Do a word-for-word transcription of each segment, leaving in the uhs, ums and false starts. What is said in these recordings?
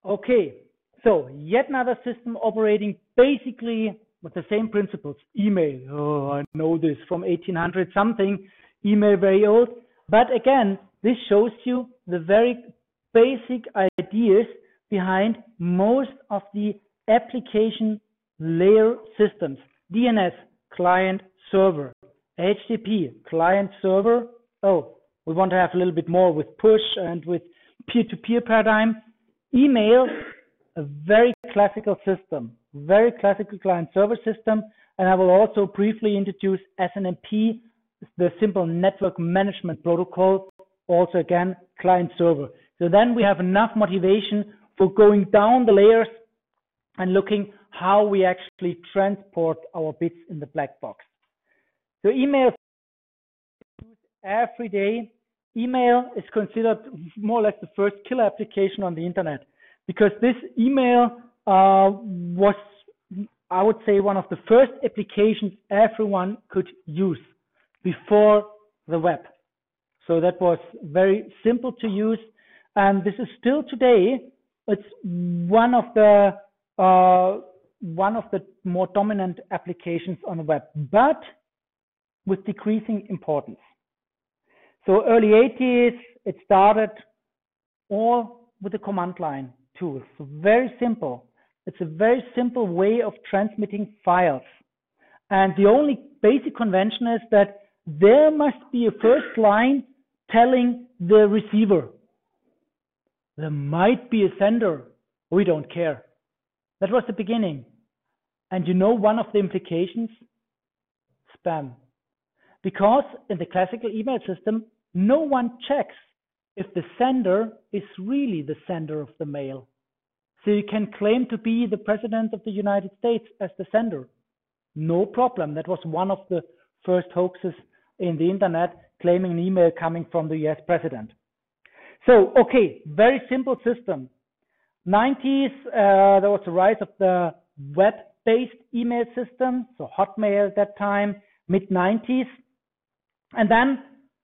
Okay, so yet another system operating basically with the same principles. Email, oh, I know this from eighteen hundred something, email very old. But again, this shows you the very basic ideas behind most of the application layer systems. D N S, client server. H T T P, client server. Oh, we want to have a little bit more with push and with peer-to-peer paradigm. Email, a very classical system, very classical client server system. And I will also briefly introduce S N M P, the simple network management protocol, also again, client server. So then we have enough motivation for going down the layers and looking how we actually transport our bits in the black box. So email every day. Email is considered more or less the first killer application on the internet, because this email uh, was, I would say, one of the first applications everyone could use before the web. So that was very simple to use, and this is still today. It's one of the uh, one of the more dominant applications on the web, but with decreasing importance. So early eighties, it started all with the command line tools. So very simple. It's a very simple way of transmitting files. And the only basic convention is that there must be a first line telling the receiver. There might be a sender. We don't care. That was the beginning. And you know one of the implications? Spam. Because in the classical email system, no one checks if the sender is really the sender of the mail. So you can claim to be the President of the United States as the sender. No problem. That was one of the first hoaxes in the internet, claiming an email coming from the U S president. So, okay, very simple system. nineties, uh, there was the rise of the web-based email system, so Hotmail at that time, mid nineties. And then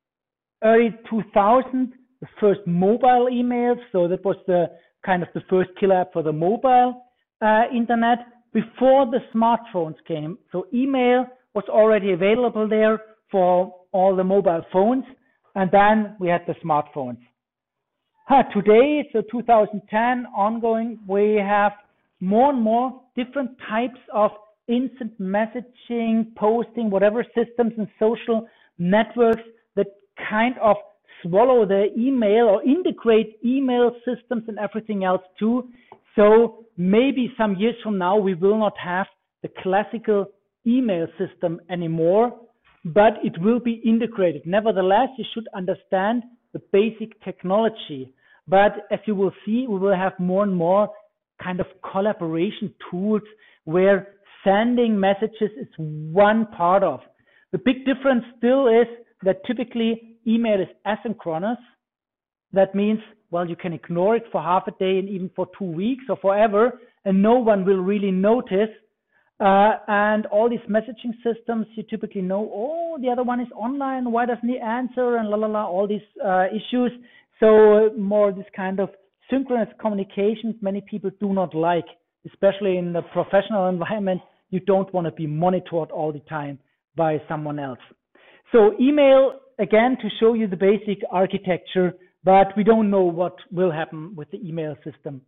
early two thousand, the first mobile emails. So that was the kind of the first killer app for the mobile uh, internet before the smartphones came. So email was already available there for all the mobile phones. And then we had the smartphones. Huh, today, so two thousand ten ongoing, we have more and more different types of instant messaging, posting, whatever systems and social networks that kind of swallow the email or integrate email systems and everything else too. So maybe some years from now, we will not have the classical email system anymore, but it will be integrated. Nevertheless, you should understand the basic technology. But as you will see, we will have more and more kind of collaboration tools where sending messages is one part of. The big difference still is that typically email is asynchronous. That means, well, you can ignore it for half a day and even for two weeks or forever, and no one will really notice. Uh, and all these messaging systems, you typically know, oh, the other one is online, why doesn't he answer, and la la la, all these uh, issues. So more this kind of synchronous communications many people do not like, especially in the professional environment. You don't want to be monitored all the time by someone else. So email, again, to show you the basic architecture, but we don't know what will happen with the email system.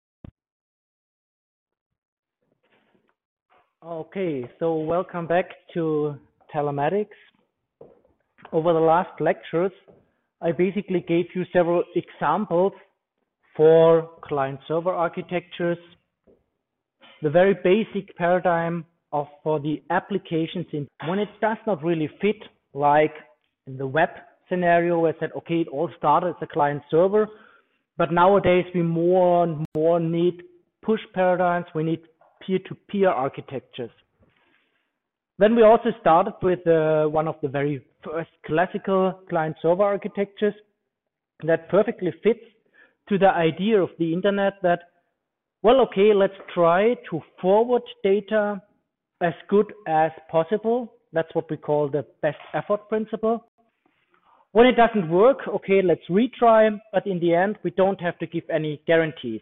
Okay, so welcome back to Telematics. Over the last lectures, I basically gave you several examples for client-server architectures, the very basic paradigm of for the applications in when it does not really fit, like in the web scenario where I said, okay, it all started as a client-server, but nowadays we more and more need push paradigms, we need peer-to-peer architectures. Then we also started with uh, one of the very first classical client-server architectures that perfectly fits to the idea of the internet that, well, okay, let's try to forward data as good as possible. That's what we call the best effort principle. When it doesn't work, okay, let's retry, but in the end, we don't have to give any guarantees.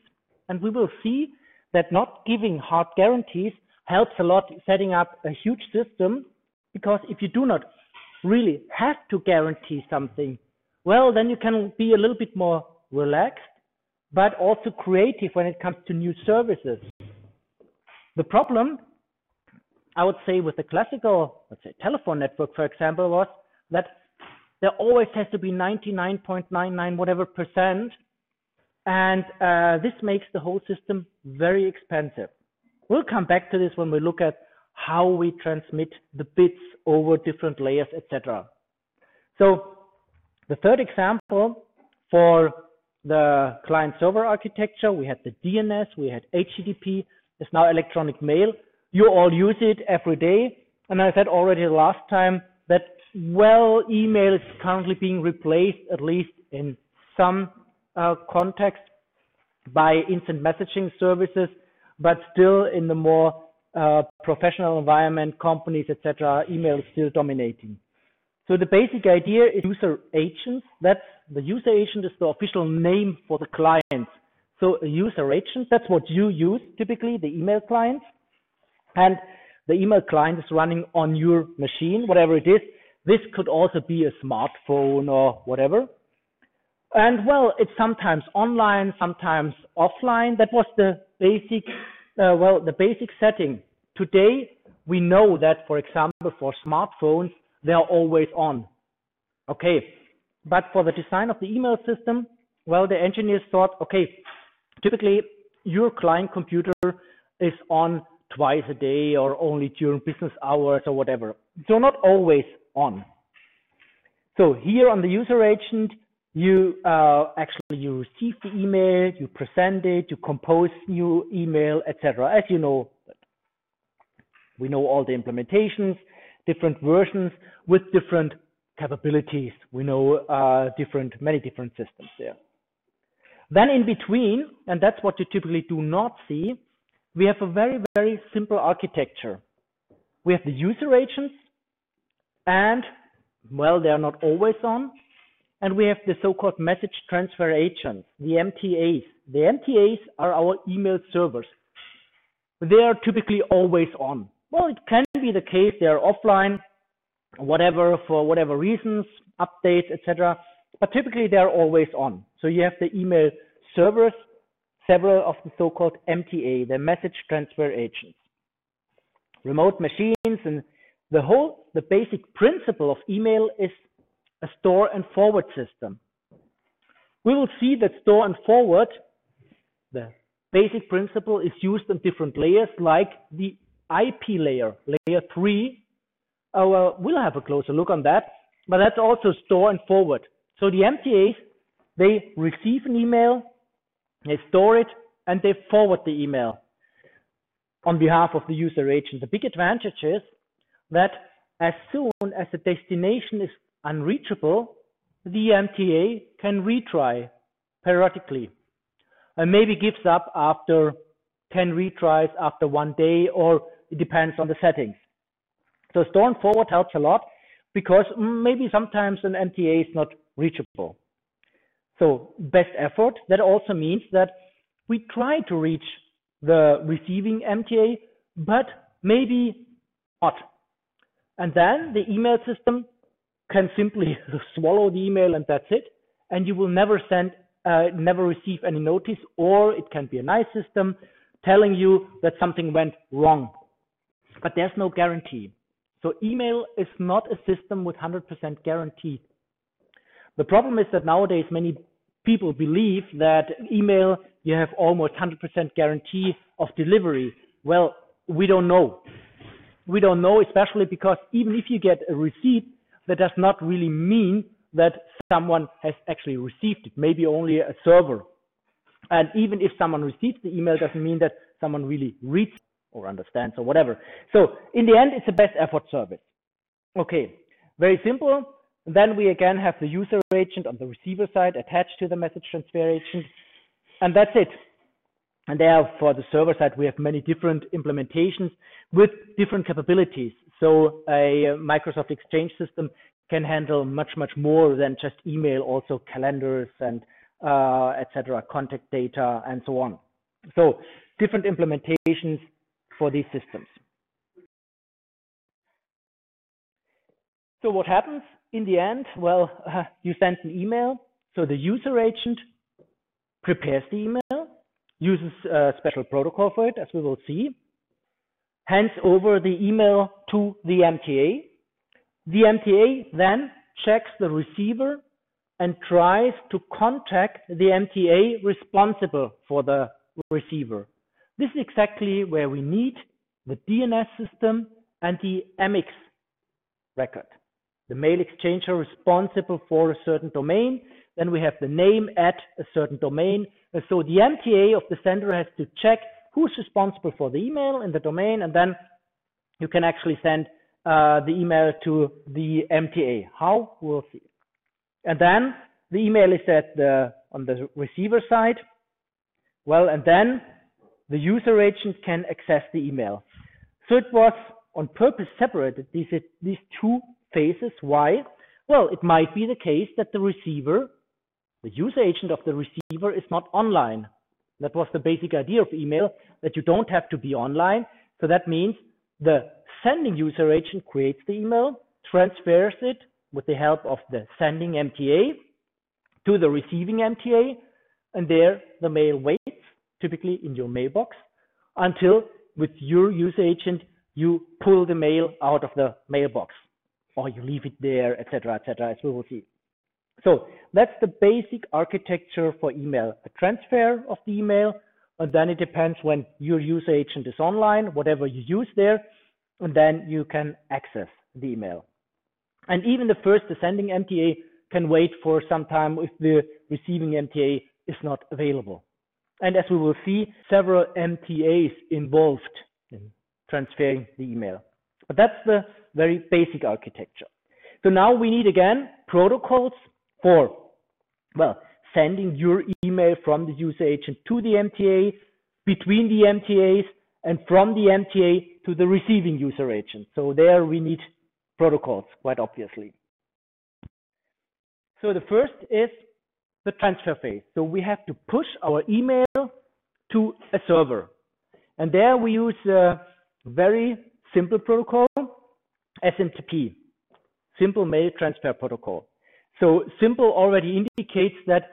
And we will see that not giving hard guarantees helps a lot setting up a huge system, because if you do not really have to guarantee something, well, then you can be a little bit more relaxed, but also creative when it comes to new services. The problem, I would say, with the classical, let's say, telephone network, for example, was that there always has to be ninety-nine point nine nine whatever percent, and uh, this makes the whole system very expensive. We'll come back to this when we look at how we transmit the bits over different layers, et cetera. So the third example for the client-server architecture, we had the D N S, we had H T T P, it's now electronic mail. You all use it every day. And I said already the last time that, well, email is currently being replaced, at least in some uh, context, by instant messaging services, but still in the more uh, professional environment, companies, et cetera, email is still dominating. So the basic idea is user agents. That's the user agent is the official name for the client. So a user agent, that's what you use typically, the email client. And the email client is running on your machine, whatever it is. This could also be a smartphone or whatever. And well, it's sometimes online, sometimes offline. That was the basic, uh, well, the basic setting. Today, we know that, for example, for smartphones, they are always on. Okay, but for the design of the email system, well, the engineers thought, okay, typically your client computer is on twice a day or only during business hours or whatever. So not always on. So here on the user agent, you uh, actually you receive the email, you present it, you compose new email, et cetera. As you know, we know all the implementations, different versions with different capabilities. We know uh, different, many different systems there. Then in between, and that's what you typically do not see, we have a very, very simple architecture. We have the user agents, and, well, they are not always on. And we have the so-called message transfer agents, the M T As. The M T As are our email servers. They are typically always on. Well, it can be the case they are offline, whatever, for whatever reasons, updates, et cetera. But typically they are always on. So you have the email servers, several of the so-called M T A, the message transfer agents. Remote machines, and the whole, the basic principle of email is a store and forward system. We will see that store and forward, the basic principle, is used on different layers, like the I P layer, layer three. Uh, well, we'll have a closer look on that, but that's also store and forward. So the M T As, they receive an email, they store it, and they forward the email on behalf of the user agent. The big advantage is that as soon as the destination is unreachable, the M T A can retry periodically and maybe gives up after ten retries, after one day, or it depends on the settings. So store and forward helps a lot because maybe sometimes an M T A is not reachable. So best effort, that also means that we try to reach the receiving M T A, but maybe not. And then the email system can simply swallow the email and that's it. And you will never send, uh, never receive any notice, or it can be a nice system telling you that something went wrong. But there's no guarantee. So email is not a system with one hundred percent guarantee. The problem is that nowadays many people believe that email, you have almost one hundred percent guarantee of delivery. Well, we don't know. We don't know, especially because even if you get a receipt, that does not really mean that someone has actually received it, maybe only a server. And even if someone receives the email, doesn't mean that someone really reads or understands or whatever. So in the end, it's a best effort service. Okay, very simple. Then we again have the user agent on the receiver side attached to the message transfer agent. And that's it. And there for the server side, we have many different implementations with different capabilities. So a Microsoft Exchange system can handle much, much more than just email, also calendars and uh, et cetera, contact data and so on. So different implementations for these systems. So what happens in the end? Well, uh, you send an email. So the user agent prepares the email, uses a special protocol for it, as we will see, hands over the email to the M T A. The M T A then checks the receiver and tries to contact the M T A responsible for the receiver. This is exactly where we need the D N S system and the M X record. The mail exchanger responsible for a certain domain. Then we have the name at a certain domain. And so the M T A of the sender has to check who's responsible for the email in the domain, and then you can actually send uh, the email to the M T A. How? We'll see. And then the email is at the on the receiver side. Well, and then the user agent can access the email. So it was on purpose separated, these these two phases. Why? Well, it might be the case that the receiver, the user agent of the receiver, is not online. That was the basic idea of email, that you don't have to be online. So that means the sending user agent creates the email, transfers it with the help of the sending M T A to the receiving M T A, and there the mail waits, typically in your mailbox, until with your user agent you pull the mail out of the mailbox, or you leave it there, et cetera, et cetera, as we will see. So that's the basic architecture for email: a transfer of the email, and then it depends when your user agent is online, whatever you use there, and then you can access the email. And even the first, the sending M T A, can wait for some time if the receiving M T A is not available. And as we will see, several M T As involved in transferring the email. But that's the very basic architecture. So now we need, again, protocols for, well, sending your email from the user agent to the M T A, between the M T As, and from the M T A to the receiving user agent. So there we need protocols, quite obviously. So the first is the transfer phase. So we have to push our email to a server. And there we use a very simple protocol, S M T P, Simple Mail Transfer Protocol. So simple already indicates that,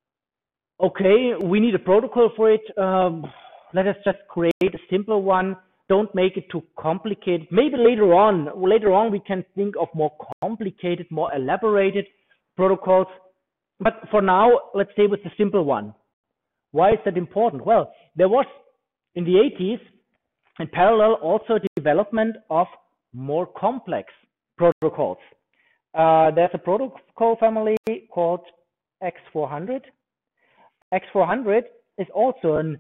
okay, we need a protocol for it. Um, let us just create a simple one. Don't make it too complicated. Maybe later on, later on we can think of more complicated, more elaborated protocols. But for now, let's stay with the simple one. Why is that important? Well, there was in the eighties, in parallel, also development of more complex protocols. Uh, there's a protocol family called X four hundred. X four hundred is also a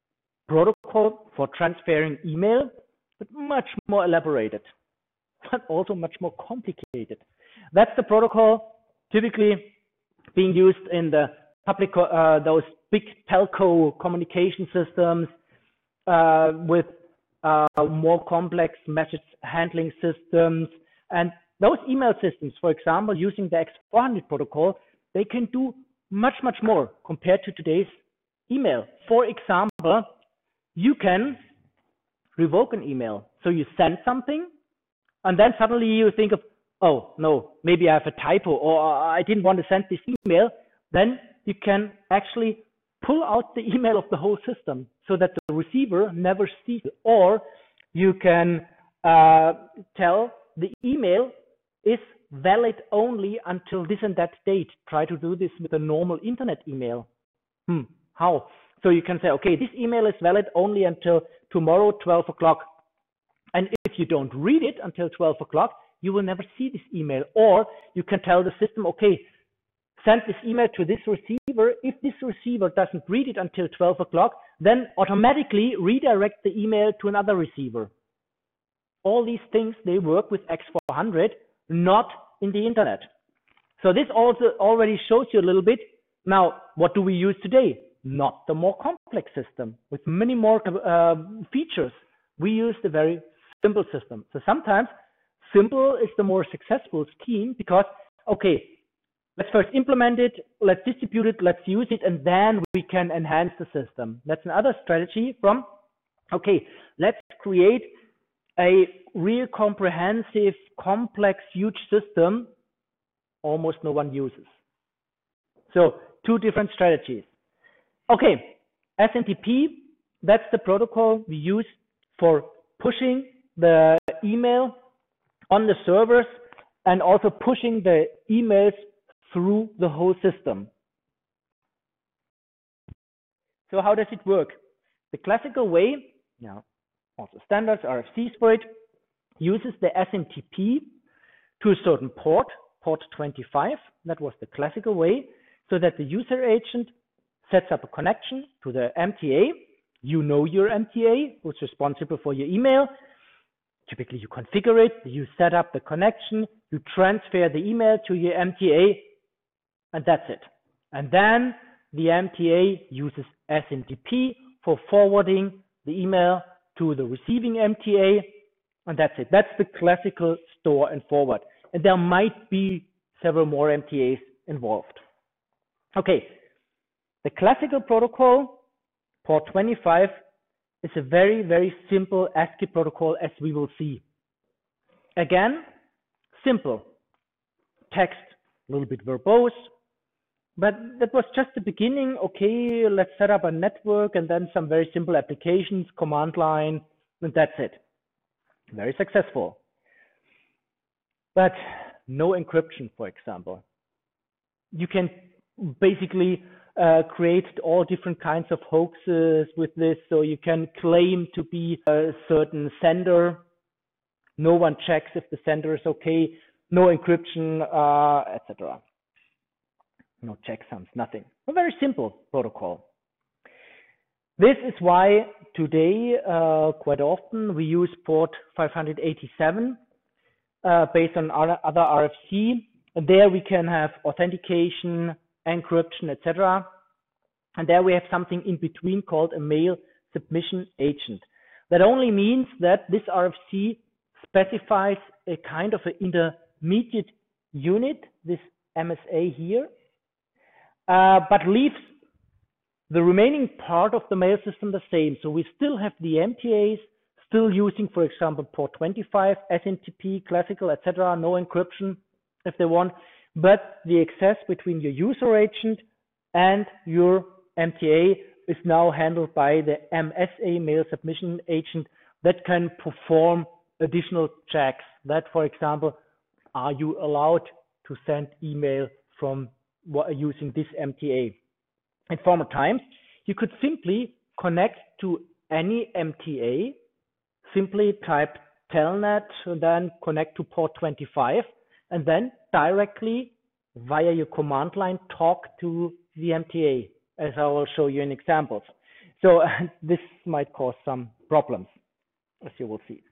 protocol for transferring email, but much more elaborated, but also much more complicated. That's the protocol typically being used in the public, uh, those big telco communication systems uh, with uh, more complex message handling systems. And those email systems, for example, using the X four hundred protocol, they can do much, much more compared to today's email. For example, you can revoke an email. So you send something, and then suddenly you think of, oh, no, maybe I have a typo, or I didn't want to send this email. Then you can actually pull out the email of the whole system so that the receiver never sees it. Or you can uh, tell the email is valid only until this and that date. Try to do this with a normal internet email. Hmm, how? So you can say, okay, this email is valid only until tomorrow, twelve o'clock. And if you don't read it until twelve o'clock, you will never see this email. Or you can tell the system, okay, send this email to this receiver. If this receiver doesn't read it until twelve o'clock, then automatically redirect the email to another receiver. All these things, they work with X four hundred, not in the internet. So this also already shows you a little bit. Now, what do we use today? Not the more complex system with many more uh, features. We use the very simple system. So sometimes simple is the more successful scheme because, okay, let's first implement it, let's distribute it, let's use it, and then we can enhance the system. That's another strategy from, okay, let's create a real comprehensive, complex, huge system almost no one uses. So two different strategies. Okay, S M T P, that's the protocol we use for pushing the email on the servers and also pushing the emails through the whole system. So how does it work? The classical way, yeah, also standards, R F Cs for it, uses the S M T P to a certain port, port twenty-five. That was the classical way, so that the user agent sets up a connection to the M T A. You know your M T A, who's responsible for your email. Typically, you configure it, you set up the connection, you transfer the email to your M T A, and that's it. And then the M T A uses S M T P for forwarding the email to the receiving M T A, and that's it. That's the classical store and forward. And there might be several more M T As involved. Okay, the classical protocol, port twenty-five, is a very, very simple ASCII protocol, as we will see. Again, simple. Text, a little bit verbose, but that was just the beginning. Okay, let's set up a network and then some very simple applications, command line, and that's it. Very successful. But no encryption, for example. You can basically uh, create all different kinds of hoaxes with this. So you can claim to be a certain sender. No one checks if the sender is okay. No encryption, uh, et cetera. No checksums, nothing. A very simple protocol. This is why today, uh, quite often, we use port five eighty-seven uh, based on other R F C. And there we can have authentication, encryption, et cetera. And there we have something in between called a mail submission agent. That only means that this R F C specifies a kind of an intermediate unit, this M S A here, uh, but leaves the remaining part of the mail system the same. So we still have the M T As, still using, for example, port twenty-five, S M T P, classical, et cetera, no encryption if they want, but the access between your user agent and your M T A is now handled by the M S A, mail submission agent, that can perform additional checks. That, for example, are you allowed to send email from using this M T A? In former times, you could simply connect to any M T A, simply type telnet and then connect to port twenty-five, and then directly via your command line talk to the M T A, as I will show you in examples. So uh, this might cause some problems, as you will see.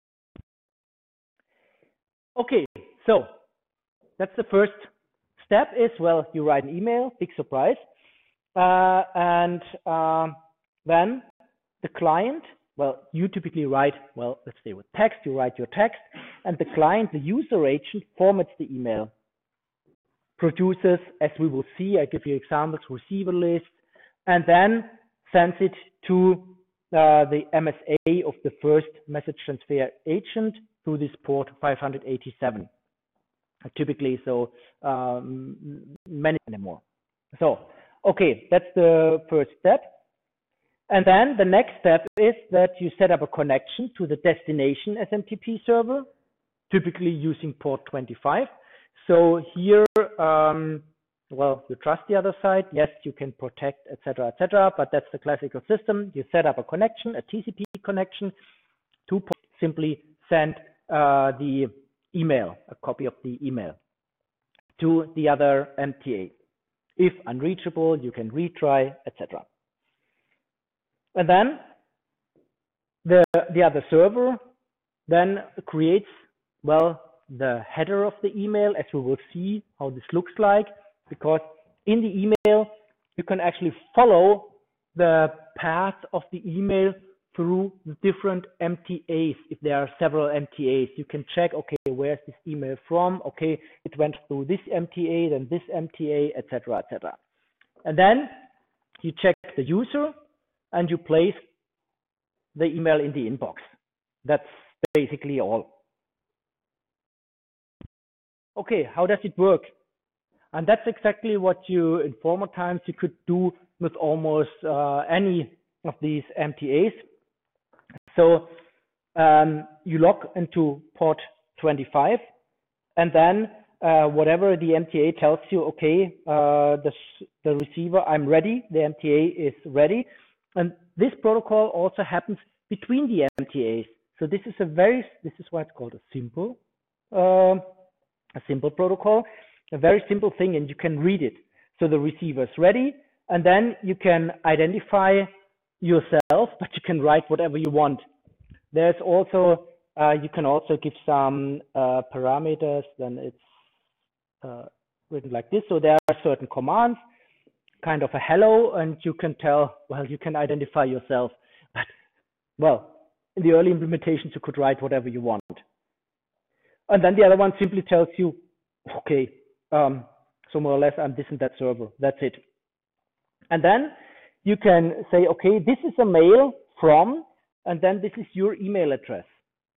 Okay, so that's the first step is, well, you write an email, big surprise. Uh, and uh, then the client, well, you typically write, well, let's say with text, you write your text, and the client, the user agent, formats the email, produces, as we will see, I give you examples, receiver list, and then sends it to uh, the M S A of the first message transfer agent through this port five eighty-seven. Typically, so um, many more. So, okay, that's the first step. And then the next step is that you set up a connection to the destination S M T P server, typically using port twenty-five. So here, um, well, you trust the other side. Yes, you can protect, et cetera, et cetera. But that's the classical system. You set up a connection, a T C P connection, to simply send uh, the email, a copy of the email, to the other M T A. If unreachable, you can retry, et cetera. And then the the other server then creates, well, the header of the email, as we will see how this looks like, because in the email you can actually follow the path of the email through the different M T As. If there are several M T As, you can check, okay, where's this email from? Okay, it went through this M T A, then this M T A, et cetera, et cetera. And then you check the user and you place the email in the inbox. That's basically all. Okay, how does it work? And that's exactly what you, in former times, you could do with almost uh, any of these M T As. So um, you log into port twenty-five, and then uh, whatever the M T A tells you, okay, uh, the, the receiver, I'm ready, the M T A is ready. And this protocol also happens between the M T As. So this is a very, this is why it's called a simple, uh, a simple protocol, a very simple thing, and you can read it. So the receiver is ready, and then you can identify yourself, but you can write whatever you want. There's also, uh, you can also give some uh, parameters, then it's uh, written like this. So there are certain commands, kind of a hello, and you can tell, well, you can identify yourself. But, well, in the early implementations, you could write whatever you want. And then the other one simply tells you, okay, um, so more or less, I'm this and that server. That's it. And then you can say, okay, this is a mail from, and then this is your email address.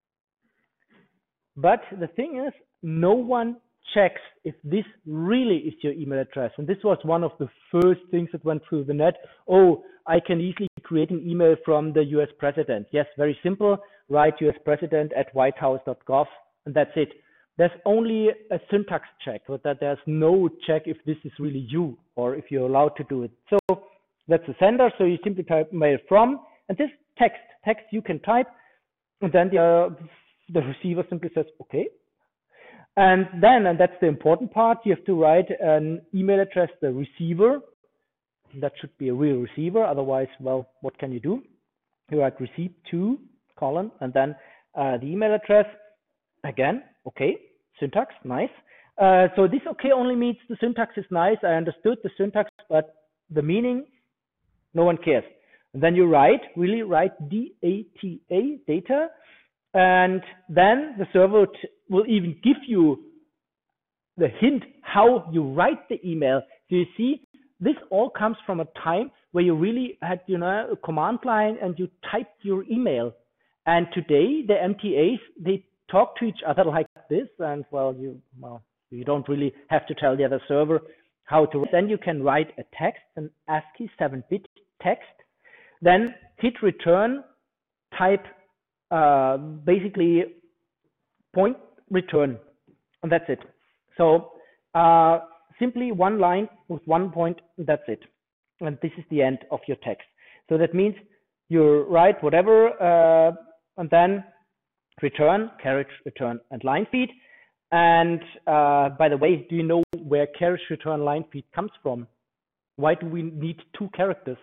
But the thing is, no one checks if this really is your email address. And this was one of the first things that went through the net. Oh, I can easily create an email from the U S president. Yes, very simple. Write U S president at whitehouse dot gov, and that's it. There's only a syntax check, but that there's no check if this is really you or if you're allowed to do it. So that's the sender. So you simply type mail from, and this text, text you can type, and then the, uh, the receiver simply says, okay. And then, and that's the important part, you have to write an email address, the receiver. That should be a real receiver. Otherwise, well, what can you do? You write receive to, colon, and then uh, the email address. Again, okay, syntax, nice. Uh, so this okay only means the syntax is nice. I understood the syntax, but the meaning, no one cares. And then you write, really write D A T A, data, and then the server will even give you the hint how you write the email. So you see, this all comes from a time where you really had, you know, a command line and you typed your email. And today the M T As, they talk to each other like this, and well, you well, you don't really have to tell the other server how to. Then you can write a text, an ASCII seven bit text, then hit return, type uh, basically point return, and that's it. So uh, simply one line with one point, that's it, and this is the end of your text. So that means you write whatever, uh, and then return, carriage, return, and line feed. And uh, by the way, do you know where carriage, return, line feed comes from? Why do we need two characters?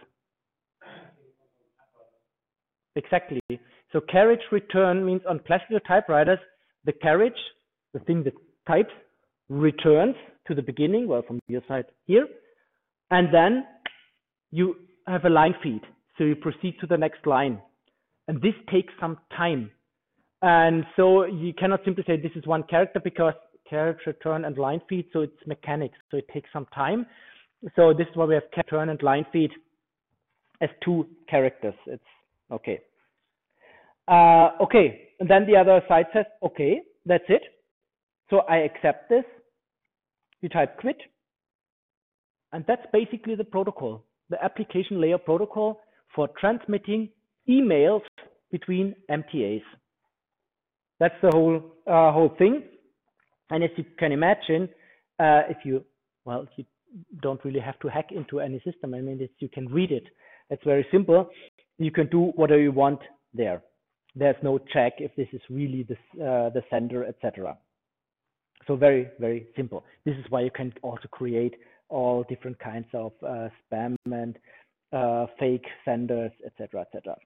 Exactly. So carriage, return means on classical typewriters, the carriage, the thing that types, returns to the beginning, well, from your side here, and then you have a line feed. So you proceed to the next line. And this takes some time. And so you cannot simply say this is one character because carriage, return, and line feed, so it's mechanics, so it takes some time. So this is why we have carriage, return, and line feed as two characters. It's okay. Uh, okay, and then the other side says, okay, that's it. So I accept this. You type quit. And that's basically the protocol, the application layer protocol for transmitting emails between M T As. That's the whole uh, whole thing. And as you can imagine, uh, if you, well, you don't really have to hack into any system. I mean, it's, you can read it. It's very simple. You can do whatever you want there. There's no check if this is really the, uh, the sender, et cetera. So very, very simple. This is why you can also create all different kinds of uh, spam and uh, fake senders, et cetera, et cetera.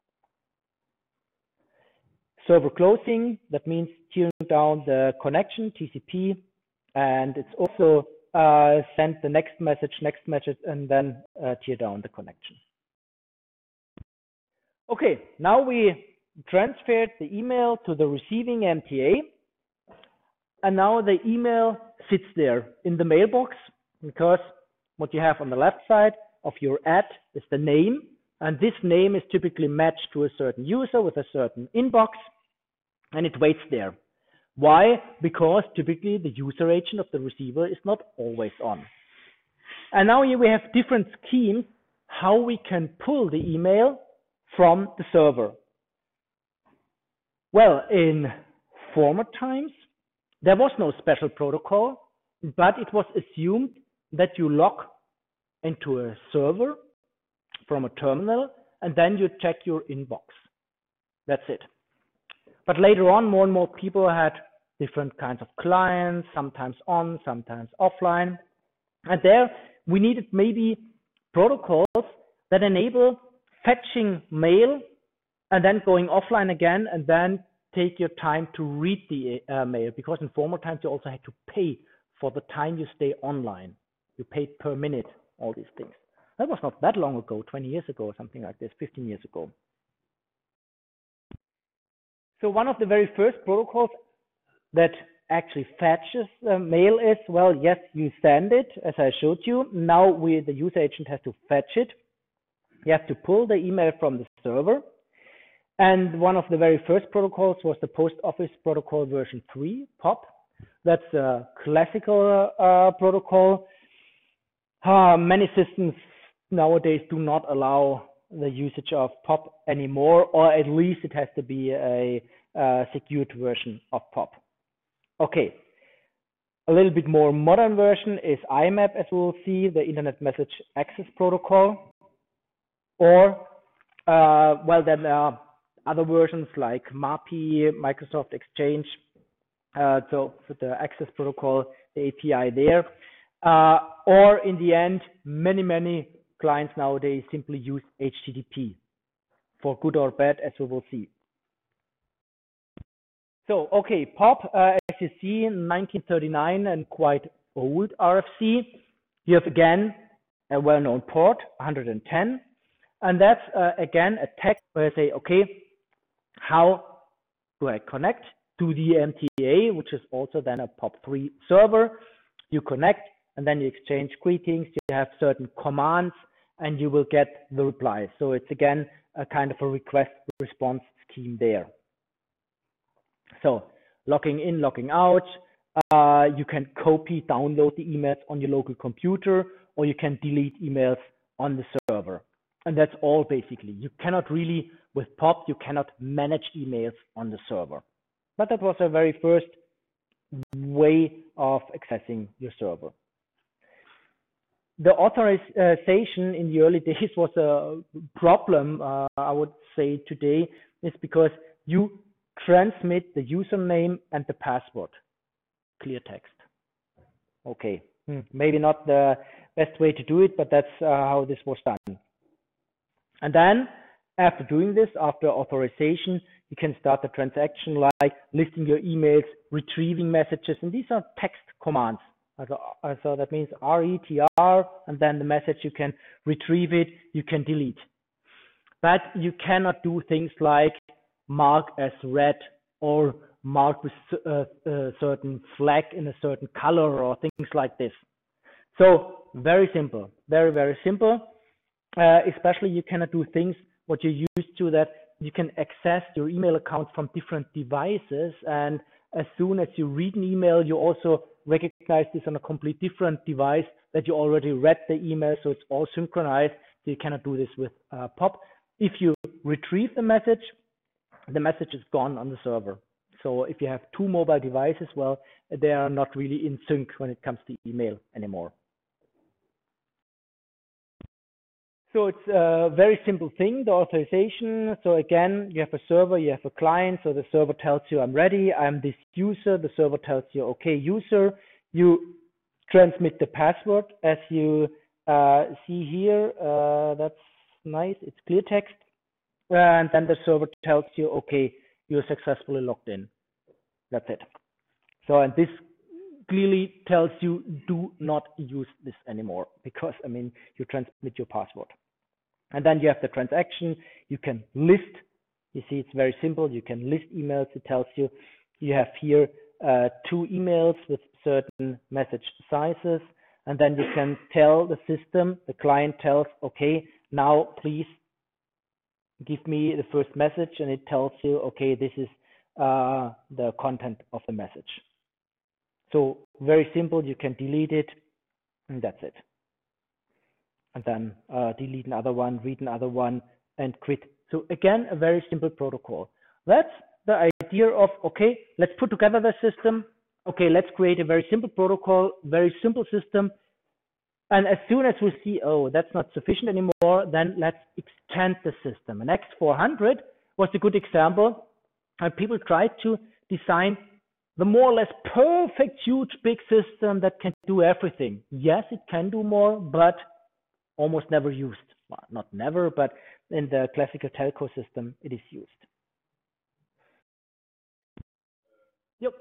Server closing, that means tearing down the connection, T C P, and it's also uh, send the next message, next message, and then uh, tear down the connection. Okay, now we transferred the email to the receiving M T A, and now the email sits there in the mailbox, because what you have on the left side of your ad is the name, and this name is typically matched to a certain user with a certain inbox, and it waits there. Why? Because typically the user agent of the receiver is not always on. And now here we have different schemes how we can pull the email from the server. Well, in former times, there was no special protocol, but it was assumed that you log into a server from a terminal and then you check your inbox. That's it. But later on, more and more people had different kinds of clients, sometimes on, sometimes offline. And there we needed maybe protocols that enable fetching mail and then going offline again and then take your time to read the uh, mail, because in former times you also had to pay for the time you stay online. You paid per minute, all these things. That was not that long ago, twenty years ago or something like this, fifteen years ago. So one of the very first protocols that actually fetches uh, mail is, well, yes, you send it, as I showed you. Now we, the user agent has to fetch it. You have to pull the email from the server. And one of the very first protocols was the Post Office Protocol version three, P O P. That's a classical uh, protocol. Uh, many systems nowadays do not allow the usage of P O P anymore, or at least it has to be a, a secured version of P O P. Okay, a little bit more modern version is I M A P, as we'll see, the Internet Message Access Protocol. Or, uh, well, then uh, other versions like M A P I, Microsoft Exchange, uh, so for the access protocol, the A P I there. Uh, or in the end, many, many clients nowadays simply use H T T P, for good or bad, as we will see. So, okay, P O P, uh, as you see, in nineteen thirty-nine and quite old R F C. You have again a well-known port, one hundred ten. And that's, uh, again, a text where I say, okay, how do I connect to the M T A, which is also then a P O P three server? You connect, and then you exchange greetings. You have certain commands, and you will get the reply. So it's, again, a kind of a request-response scheme there. So logging in, logging out. Uh, you can copy, download the emails on your local computer, or you can delete emails on the server. And that's all basically. You cannot really, with P O P, you cannot manage emails on the server. But that was a very first way of accessing your server. The authorization in the early days was a problem, uh, I would say today, is because you transmit the username and the password, clear text. Okay, hmm. maybe not the best way to do it, but that's uh, how this was done. And then after doing this, after authorization, you can start the transaction like listing your emails, retrieving messages, and these are text commands. So, so that means R E T R, and then the message, you can retrieve it, you can delete. But you cannot do things like mark as read or mark with a, a certain flag in a certain color or things like this. So very simple, very, very simple. Uh, especially you cannot do things what you're used to, that you can access your email account from different devices, and as soon as you read an email, you also recognize this on a completely different device that you already read the email, so it's all synchronized. So you cannot do this with uh, P O P. If you retrieve the message, the message is gone on the server. So if you have two mobile devices, well, they are not really in sync when it comes to email anymore. So it's a very simple thing, the authorization. So again, you have a server, you have a client. So the server tells you, I'm ready, I'm this user. The server tells you, okay, user. You transmit the password, as you uh, see here. Uh, that's nice, it's clear text. And then the server tells you, okay, you're successfully logged in. That's it. So, and this clearly tells you, do not use this anymore, because, I mean, you transmit your password. And then you have the transaction. You can list. You see, it's very simple. You can list emails. It tells you you have here uh, two emails with certain message sizes. And then you can tell the system, the client tells, okay, now please give me the first message. And it tells you, okay, this is uh, the content of the message. So very simple. You can delete it, and that's it. And then uh, delete another one, read another one, and quit. So again, a very simple protocol. That's the idea of, okay, let's put together the system. Okay, let's create a very simple protocol, very simple system. And as soon as we see, oh, that's not sufficient anymore, then let's extend the system. And X four hundred was a good example. And people tried to design the more or less perfect, huge, big system that can do everything. Yes, it can do more, but almost never used. Well, not never, but in the classical telco system, it is used. Yep.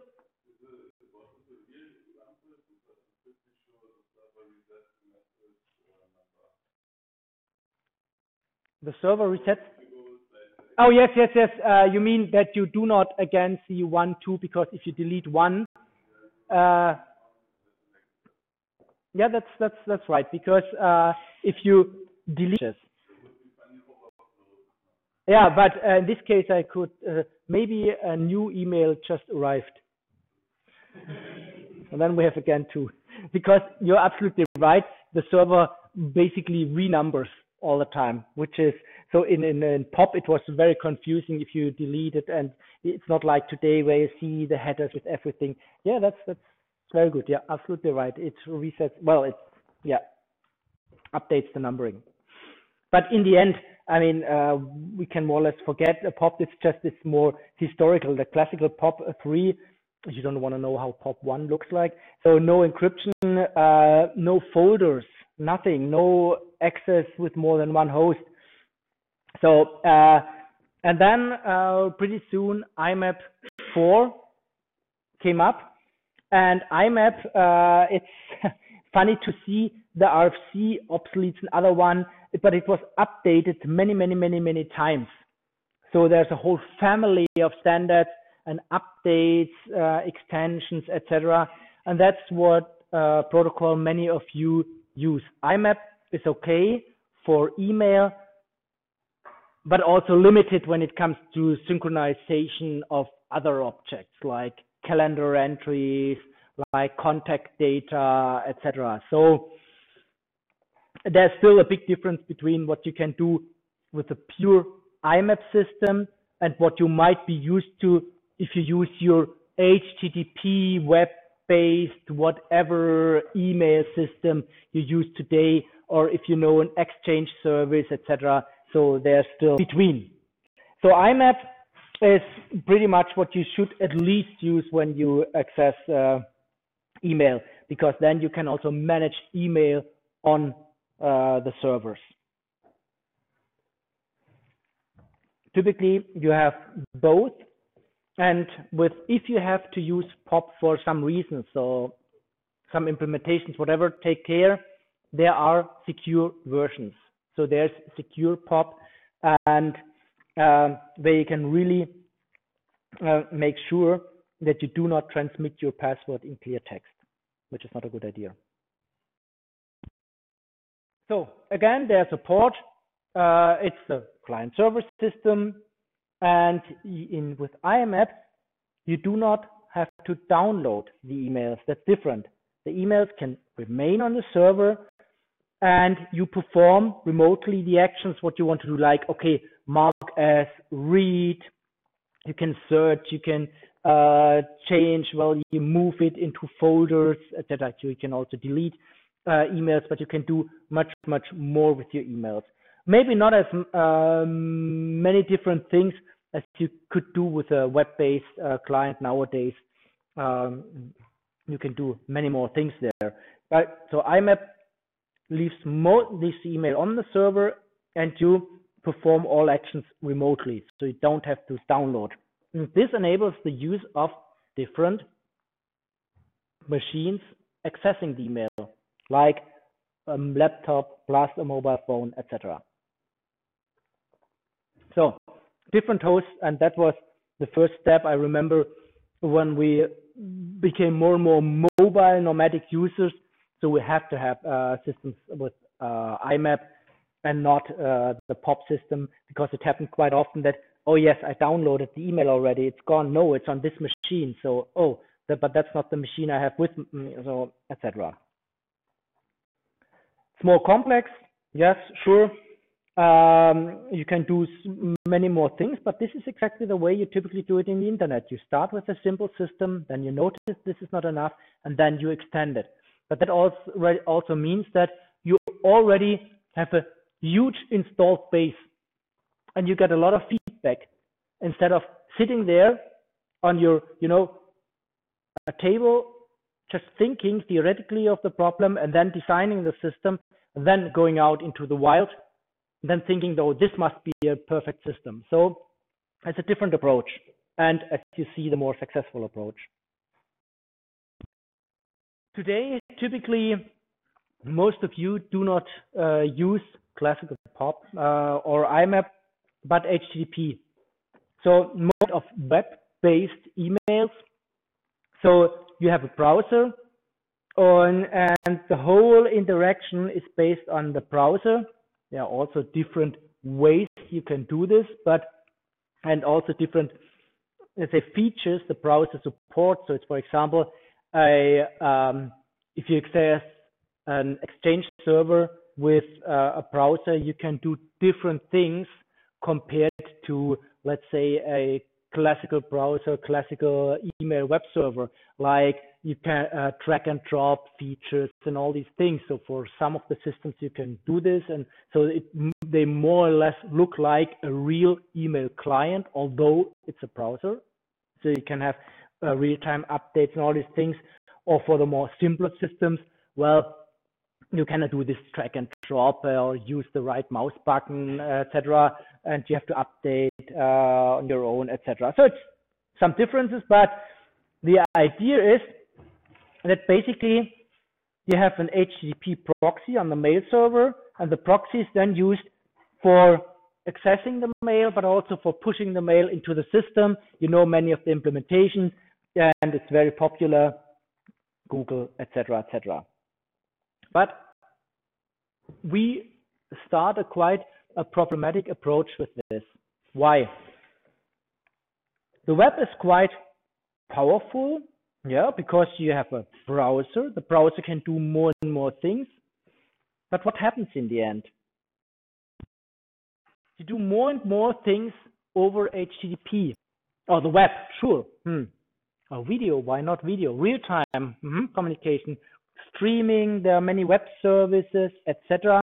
The server resets. Oh, yes, yes, yes. Uh, you mean that you do not again see one, two, because if you delete one, uh, yeah, that's that's that's right. Because uh, if you delete, yeah, but uh, in this case, I could uh, maybe a new email just arrived, and then we have again two. Because you're absolutely right. The server basically renumbers all the time, which is so in, in in POP it was very confusing if you delete it, and it's not like today where you see the headers with everything. Yeah, that's that's very good. Yeah, absolutely right. It resets. Well, it yeah updates the numbering. But in the end, I mean, uh, we can more or less forget a POP. It's just it's more historical. The classical POP three. You don't want to know how POP one looks like. So no encryption, uh, no folders, nothing, no access with more than one host. So, uh, and then uh, pretty soon I M A P four came up, and I M A P, uh, it's funny to see the R F C obsoletes another one, but it was updated many, many, many, many times. So there's a whole family of standards and updates, uh, extensions, et cetera. And that's what uh, protocol many of you use. I M A P is okay for email, but also limited when it comes to synchronization of other objects like calendar entries, like contact data, et cetera. So there's still a big difference between what you can do with a pure I M A P system and what you might be used to if you use your H T T P web-based whatever email system you use today, or if you know an Exchange service, et cetera. So they're still between. So I M A P is pretty much what you should at least use when you access uh, email, because then you can also manage email on uh, the servers. Typically, you have both. And with if you have to use POP for some reason, so some implementations, whatever, take care. There are secure versions. So there's secure POP, and uh, where you can really uh, make sure that you do not transmit your password in clear text, which is not a good idea. So again, there's a port. Uh, it's the client server system. And in with I M A P, you do not have to download the emails. That's different. The emails can remain on the server, and you perform remotely the actions what you want to do, like, okay, mark as read. You can search, you can uh, change, well, you move it into folders, et cetera. You can also delete uh, emails, but you can do much, much more with your emails. Maybe not as um, many different things as you could do with a web-based uh, client nowadays. Um, you can do many more things there. But so I M A P leaves mo this email on the server, and you perform all actions remotely, so you don't have to download. And this enables the use of different machines accessing the email, like a laptop plus a mobile phone, et cetera. different hosts, and that was the first step. I remember when we became more and more mobile nomadic users, so we have to have uh, systems with uh, I M A P and not uh, the P O P system, because it happened quite often that, oh yes, I downloaded the email already, it's gone, no, it's on this machine, so oh, that, but that's not the machine I have with me, so et cetera. It's more complex, yes, sure. Um, you can do many more things, but this is exactly the way you typically do it in the internet. You start with a simple system, then you notice this is not enough, and then you extend it. But that also, also means that you already have a huge installed base, and you get a lot of feedback instead of sitting there on your, you know, a table, just thinking theoretically of the problem and then designing the system, and then going out into the wild, then thinking, though, this must be a perfect system. So it's a different approach, and as you see, the more successful approach. Today, typically, most of you do not uh, use classical P O P uh, or I M A P, but H T T P. So most of web-based emails. So you have a browser, on, and the whole interaction is based on the browser. There are also different ways you can do this, but and also different, let's say, features the browser supports. So it's, for example, a um, if you access an Exchange server with uh, a browser, you can do different things compared to, let's say, a classical browser, classical email web server, like you can uh, drag and drop features and all these things. So for some of the systems you can do this, and so it, they more or less look like a real email client, although it's a browser. So you can have uh, real-time updates and all these things. Or for the more simpler systems, well, you cannot do this drag and drop uh, or use the right mouse button, uh, et cetera. And you have to update uh, on your own, et cetera. So it's some differences, but the idea is that basically you have an H T T P proxy on the mail server, and the proxy is then used for accessing the mail, but also for pushing the mail into the system. You know many of the implementations, and it's very popular, Google, et cetera, et cetera. But we start a quite a problematic approach with this. Why? The web is quite powerful, yeah, because you have a browser. The browser can do more and more things. But what happens in the end? You do more and more things over H T T P. Oh, the web, sure. Hmm. Oh, video, why not video? Real-time mm-hmm. communication, streaming, there are many web services, et cetera.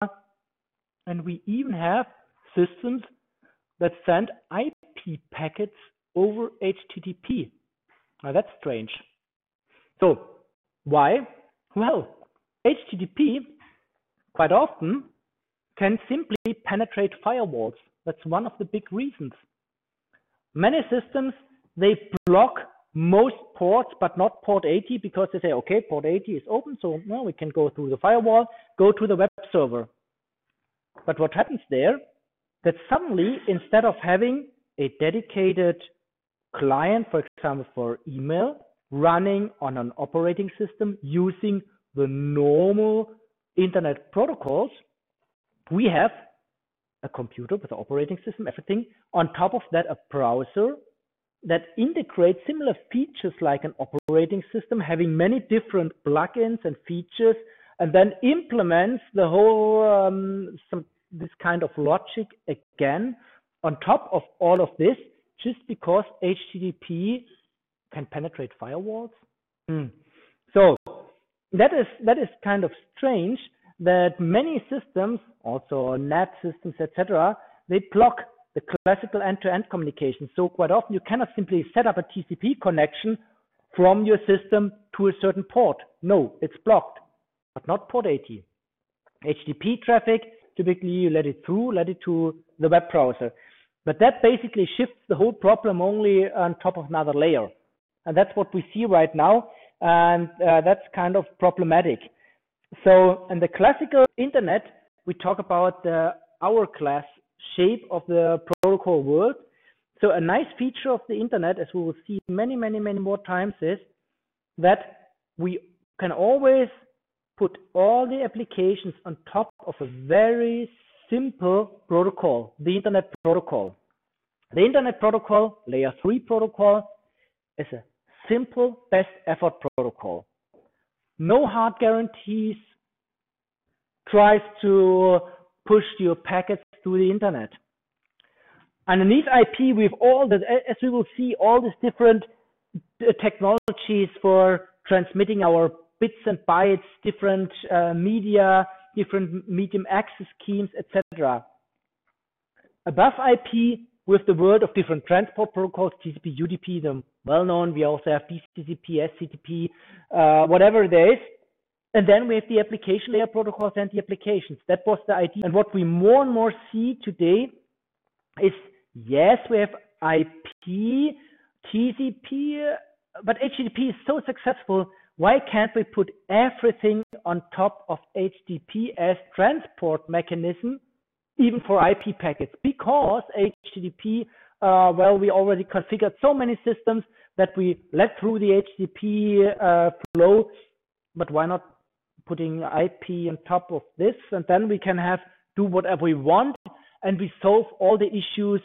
And we even have systems that send I P packets over H T T P. Now that's strange. So why? Well, H T T P quite often can simply penetrate firewalls. That's one of the big reasons. Many systems, they block most ports, but not port eighty, because they say, okay, port eighty is open, so well, we can go through the firewall, go to the web server. But what happens there, that suddenly, instead of having a dedicated client, for example, for email, running on an operating system using the normal internet protocols, we have a computer with an operating system, everything. On top of that, a browser that integrates similar features like an operating system, having many different plugins and features, and then implements the whole um, some this kind of logic again on top of all of this, just because H T T P can penetrate firewalls. Mm. So that is that is kind of strange that many systems, also N A T systems, et cetera, they block the classical end-to-end communication. So quite often you cannot simply set up a T C P connection from your system to a certain port. No, it's blocked, but not port eighty. H T T P traffic, typically you let it through, let it to the web browser. But that basically shifts the whole problem only on top of another layer. And that's what we see right now. And uh, that's kind of problematic. So in the classical internet, we talk about the hourglass shape of the protocol world. So a nice feature of the internet, as we will see many, many, many more times, is that we can always put all the applications on top of a very simple protocol, the internet protocol. The internet protocol, layer three protocol, is a simple best effort protocol. No hard guarantees, tries to push your packets to the internet. Underneath I P, we have all the, as we will see, all these different technologies for transmitting our bits and bytes, different uh, media, different medium access schemes, et cetera. Above I P, with the world of different transport protocols, T C P, U D P, the well-known. We also have D C P, S C T P, uh, whatever there is. And then we have the application layer protocols and the applications. That was the idea. And what we more and more see today is, yes, we have I P, T C P, but H T T P is so successful. Why can't we put everything on top of H T T P as transport mechanism, even for I P packets? Because H T T P, uh, well, we already configured so many systems that we let through the H T T P uh, flow, but why not putting I P on top of this? And then we can have do whatever we want, and we solve all the issues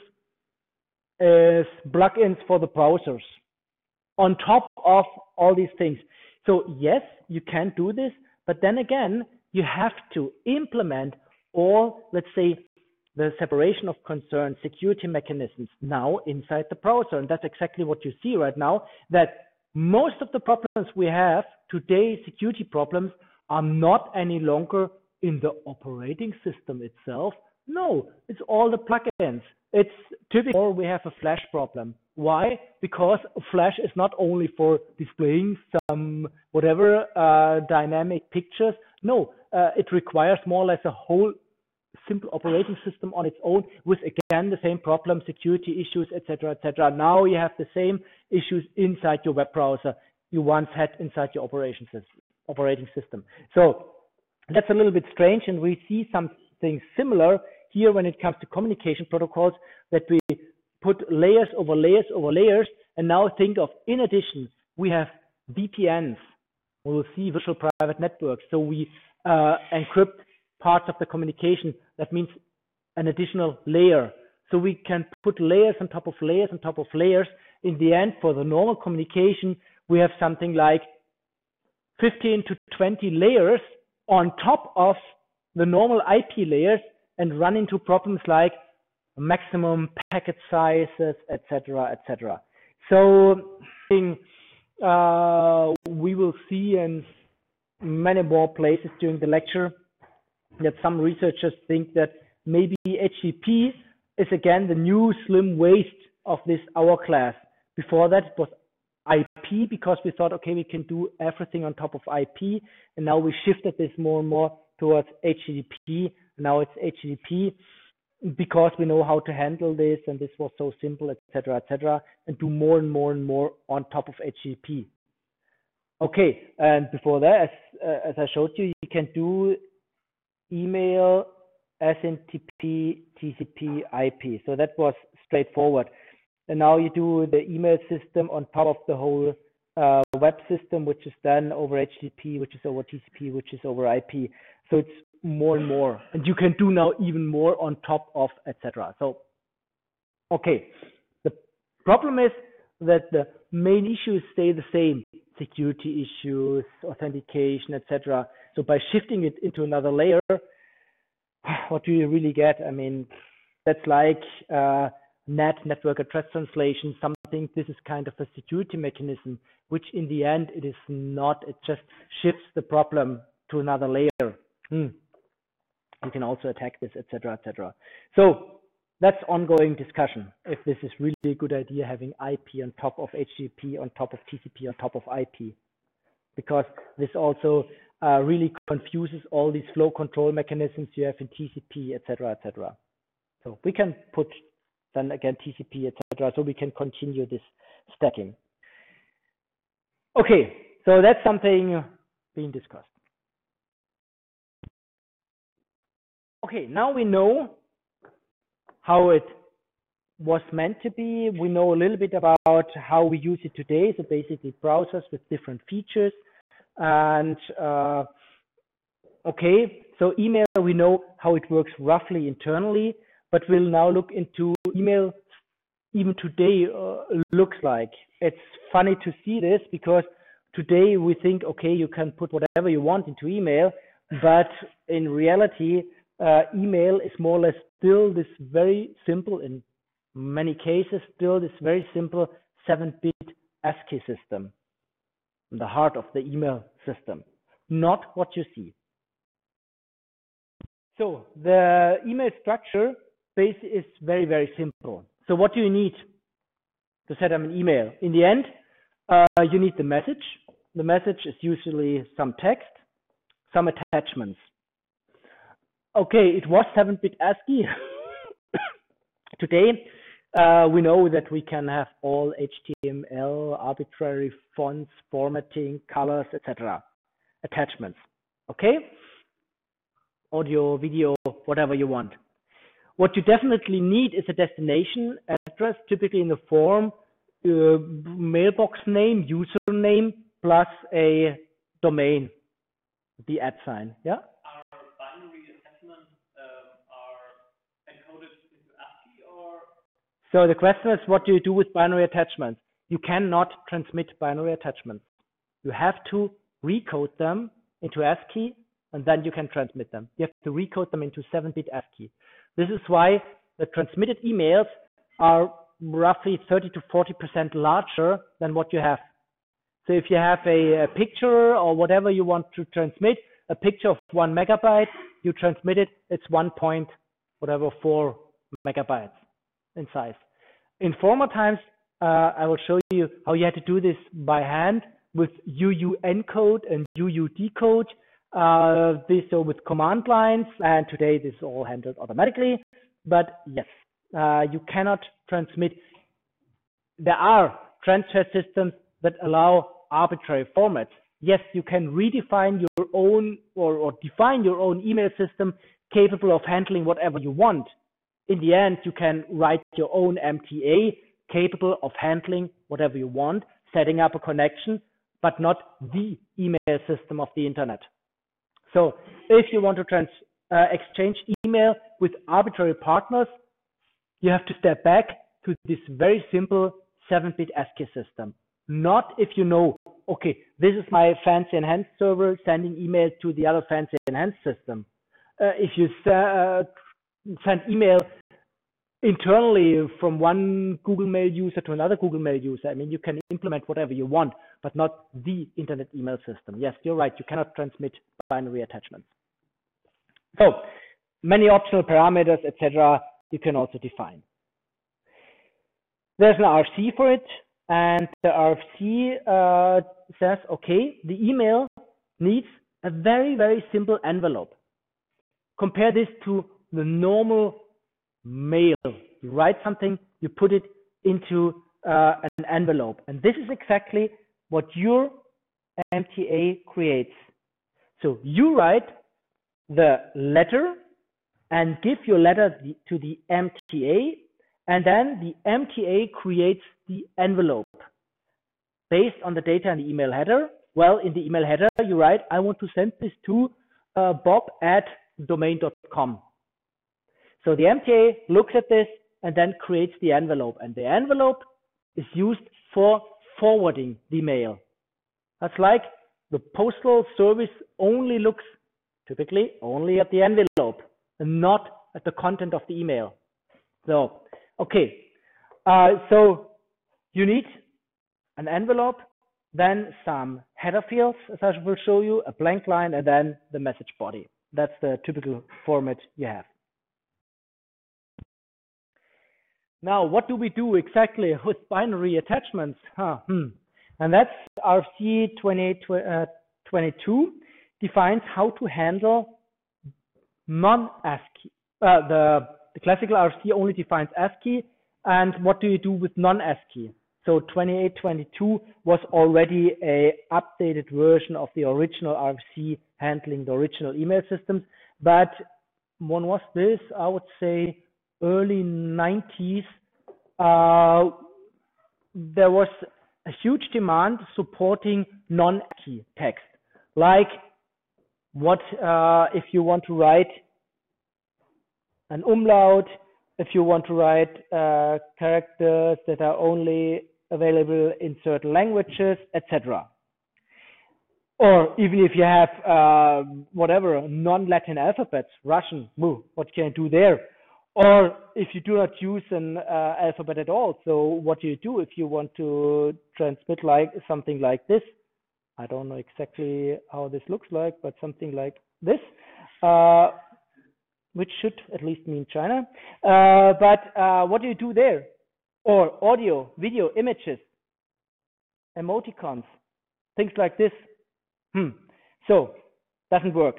as plugins for the browsers on top of all these things. So yes, you can do this, but then again, you have to implement all, let's say, the separation of concern security mechanisms now inside the browser. And that's exactly what you see right now, that most of the problems we have today, security problems, are not any longer in the operating system itself. No, it's all the plugins. It's typically, or we have a Flash problem. Why? Because Flash is not only for displaying some whatever uh, dynamic pictures. No, uh, it requires more or less a whole simple operating system on its own, with again the same problem, security issues, et cetera, et cetera. Now you have the same issues inside your web browser you once had inside your operation system, operating system. So that's a little bit strange, and we see something similar here when it comes to communication protocols, that we put layers over layers over layers. And now think of, in addition, we have V P Ns. We will see virtual private networks. So we uh, encrypt parts of the communication. That means an additional layer. So we can put layers on top of layers on top of layers. In the end, for the normal communication, we have something like fifteen to twenty layers on top of the normal I P layers, and run into problems like maximum packet sizes, et cetera, et cetera. So uh, we will see in many more places during the lecture that some researchers think that maybe H T T P is again the new slim waist of this hourglass. Before that, it was I P, because we thought, okay, we can do everything on top of I P, and now we shifted this more and more towards H T T P. Now it's H T T P because we know how to handle this, and this was so simple, et cetera, et cetera, and do more and more and more on top of H T T P. Okay, and before that, as uh, as I showed you, you can do email, S M T P, T C P, I P. So that was straightforward. And now you do the email system on top of the whole uh, web system, which is done over H T T P, which is over T C P, which is over I P. So it's more and more, and you can do now even more on top of, et cetera. So, okay, the problem is that the main issues stay the same: security issues, authentication, et cetera. So by shifting it into another layer, what do you really get? I mean, that's like uh, N A T, network address translation, something. This is kind of a security mechanism, which in the end it is not. It just shifts the problem to another layer. Hmm. You can also attack this, et cetera, et cetera. So that's ongoing discussion, if this is really a good idea, having I P on top of H T T P, on top of T C P, on top of I P, because this also uh, really confuses all these flow control mechanisms you have in T C P, et cetera, et cetera. So we can put then again T C P, et cetera. So we can continue this stacking. Okay, so that's something being discussed. Okay, now we know how it was meant to be. We know a little bit about how we use it today. So basically browsers with different features. And uh, okay, so email, we know how it works roughly internally, but we'll now look into email even today uh, looks like. It's funny to see this because today we think, okay, you can put whatever you want into email, but in reality, uh, email is more or less still this very simple, in many cases, still this very simple seven bit ASCII system, the heart of the email system, not what you see. So the email structure base is very, very simple. So what do you need to set up an email? In the end, uh, you need the message. The message is usually some text, some attachments. Okay, it was seven bit ASCII. Today, uh, we know that we can have all H T M L, arbitrary fonts, formatting, colors, et cetera. Attachments. Okay? Audio, video, whatever you want. What you definitely need is a destination address, typically in the form uh, mailbox name, username, plus a domain, the at sign. Yeah? Are binary attachments um, are encoded into ASCII or? So the question is, what do you do with binary attachments? You cannot transmit binary attachments. You have to recode them into ASCII, and then you can transmit them. You have to recode them into seven bit ASCII. This is why the transmitted emails are roughly thirty to forty percent larger than what you have. So if you have a, a picture or whatever you want to transmit, a picture of one megabyte, you transmit it, it's one point whatever four megabytes in size. In former times, uh, I will show you how you had to do this by hand with U U encode and U U decode. Uh, this so with command lines, and today this is all handled automatically. But yes, uh, you cannot transmit. There are transfer systems that allow arbitrary formats. Yes, you can redefine your own or, or define your own email system capable of handling whatever you want. In the end, you can write your own M T A capable of handling whatever you want, setting up a connection, but not the email system of the internet. So if you want to trans, uh, exchange email with arbitrary partners, you have to step back to this very simple seven bit ASCII system. Not if you know, okay, this is my fancy enhanced server sending email to the other fancy enhanced system. Uh, if you uh, send email internally from one Google Mail user to another Google Mail user, I mean, you can implement whatever you want, but not the internet email system. Yes, you're right. You cannot transmit binary attachments. So many optional parameters, et cetera, you can also define. There's an R F C for it, and the R F C uh, says, okay, the email needs a very, very simple envelope. Compare this to the normal mail. You write something, you put it into uh, an envelope. And this is exactly what your M T A creates. So you write the letter and give your letter to the M T A, and then the M T A creates the envelope based on the data in the email header. Well, in the email header, you write, I want to send this to uh, bob at domain dot com. So the M T A looks at this and then creates the envelope, and the envelope is used for forwarding the mail. That's like the postal service only looks typically only at the envelope and not at the content of the email. So, okay, uh, so you need an envelope, then some header fields, as I will show you, a blank line, and then the message body. That's the typical format you have. Now, what do we do exactly with binary attachments? Huh, hmm. And that's R F C twenty-eight twenty-two defines how to handle non-ASCII. Uh, the, the classical R F C only defines ASCII, and what do you do with non-ASCII? So twenty-eight twenty-two was already a updated version of the original R F C handling the original email systems, but when was this? I would say early nineties. uh, there was a huge demand supporting non-ASCII text, like what uh, if you want to write an umlaut, if you want to write uh, characters that are only available in certain languages, et cetera. Or even if you have uh, whatever non-Latin alphabets, Russian, woo, what can you do there? Or if you do not use an uh, alphabet at all, so what do you do if you want to transmit like something like this? I don't know exactly how this looks like, but something like this, uh, which should at least mean China. Uh, but uh, what do you do there? Or audio, video, images, emoticons, things like this. Hmm. So doesn't work.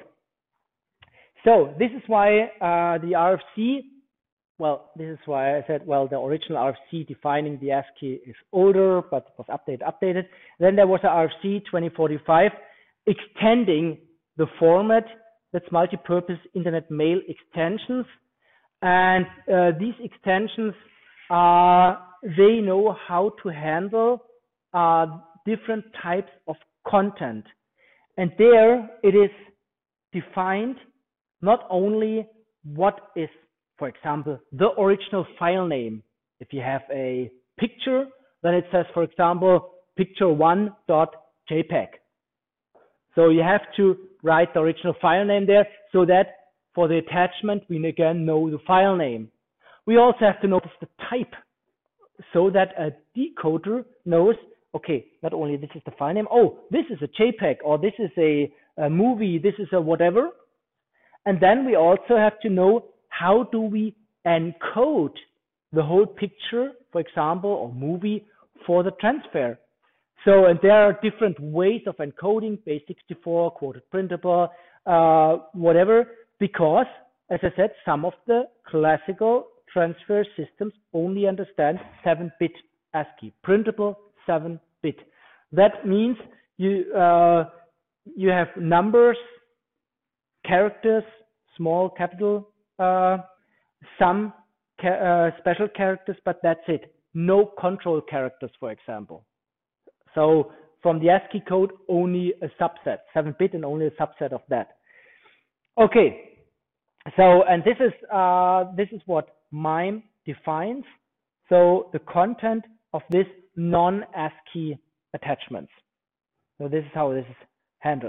So this is why uh, the R F C, well, this is why I said, well, the original R F C defining the ASCII is older, but was updated, updated. Then there was a R F C twenty forty-five extending the format. That's multi-purpose internet mail extensions. And uh, these extensions, uh, they know how to handle uh, different types of content. And there it is defined not only what is, for example, the original file name. If you have a picture, then it says, for example, picture one dot J P E G. So you have to write the original file name there so that for the attachment, we again know the file name. We also have to notice the type so that a decoder knows, okay, not only this is the file name, oh, this is a JPEG, or this is a, a movie, this is a whatever. And then we also have to know how do we encode the whole picture, for example, or movie for the transfer. So, and there are different ways of encoding, base sixty-four, quoted printable, uh, whatever, because, as I said, some of the classical transfer systems only understand seven bit ASCII, printable seven bit. That means you uh, you have numbers, characters, small, capital, uh, some ca uh, special characters, but that's it. No control characters, for example. So from the ASCII code, only a subset, seven bit, and only a subset of that. Okay. So, and this is uh, this is what MIME defines. So the content of this non-ASCII attachments. So this is how this is handled.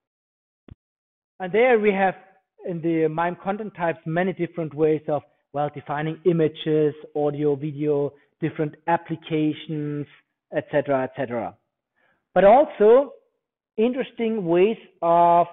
And there we have in the MIME content types many different ways of, well, defining images, audio, video, different applications, et cetera, et cetera. But also interesting ways of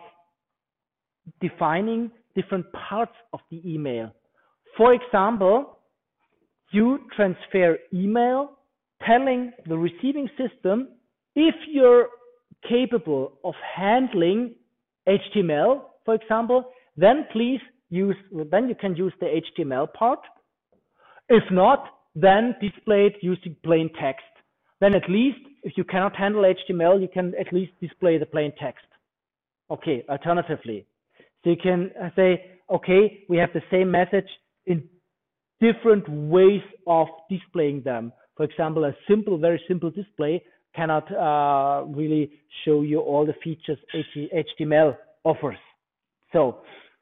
defining different parts of the email. For example, you transfer email telling the receiving system if you're capable of handling H T M L, for example, then please use, then you can use the H T M L part. If not, then display it using plain text. Then at least, if you cannot handle H T M L, you can at least display the plain text. Okay, alternatively. So you can say, okay, we have the same message in different ways of displaying them. For example, a simple, very simple display cannot uh, really show you all the features H T M L offers. So,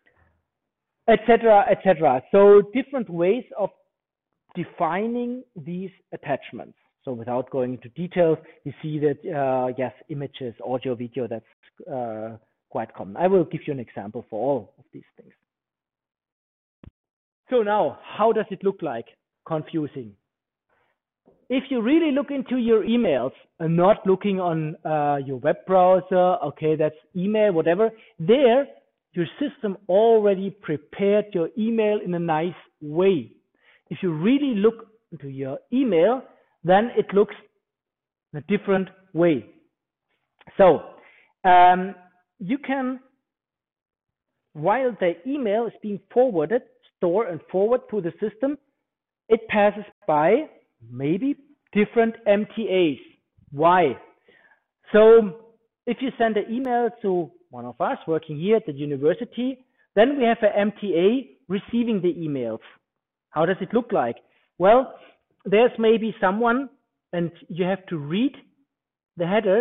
et cetera, et cetera. So different ways of defining these attachments. So without going into details, you see that, uh, yes, images, audio, video, that's uh, quite common. I will give you an example for all of these things. So now, how does it look like? Confusing. If you really look into your emails and not looking on uh, your web browser, okay, that's email, whatever, there, your system already prepared your email in a nice way. If you really look into your email, then it looks in a different way. So, um, you can, while the email is being forwarded, store and forward to the system, it passes by maybe different M T As. Why? So if you send an email to one of us working here at the university, then we have an M T A receiving the emails. How does it look like? Well, there's maybe someone, and you have to read the headers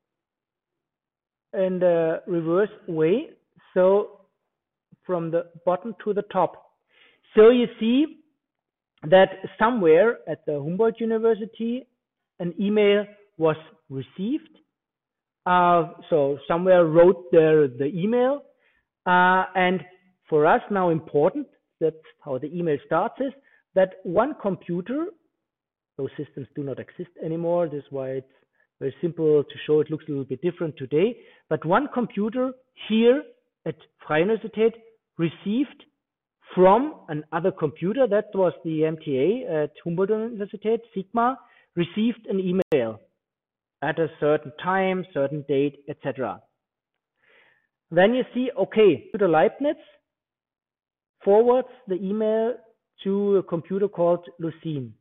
in the reverse way, so from the bottom to the top. So you see that somewhere at the Humboldt University, an email was received. Uh, so somewhere wrote there the email, uh, and for us now important, that's how the email starts, is that one computer, those systems do not exist anymore, that's why it's very simple to show, it looks a little bit different today, but one computer here at Freie Universität received from another computer, that was the M T A at Humboldt Universität, Sigma, received an email at a certain time, certain date, et cetera. Then you see, okay, to the Leibniz forwards the email to a computer called Lucene.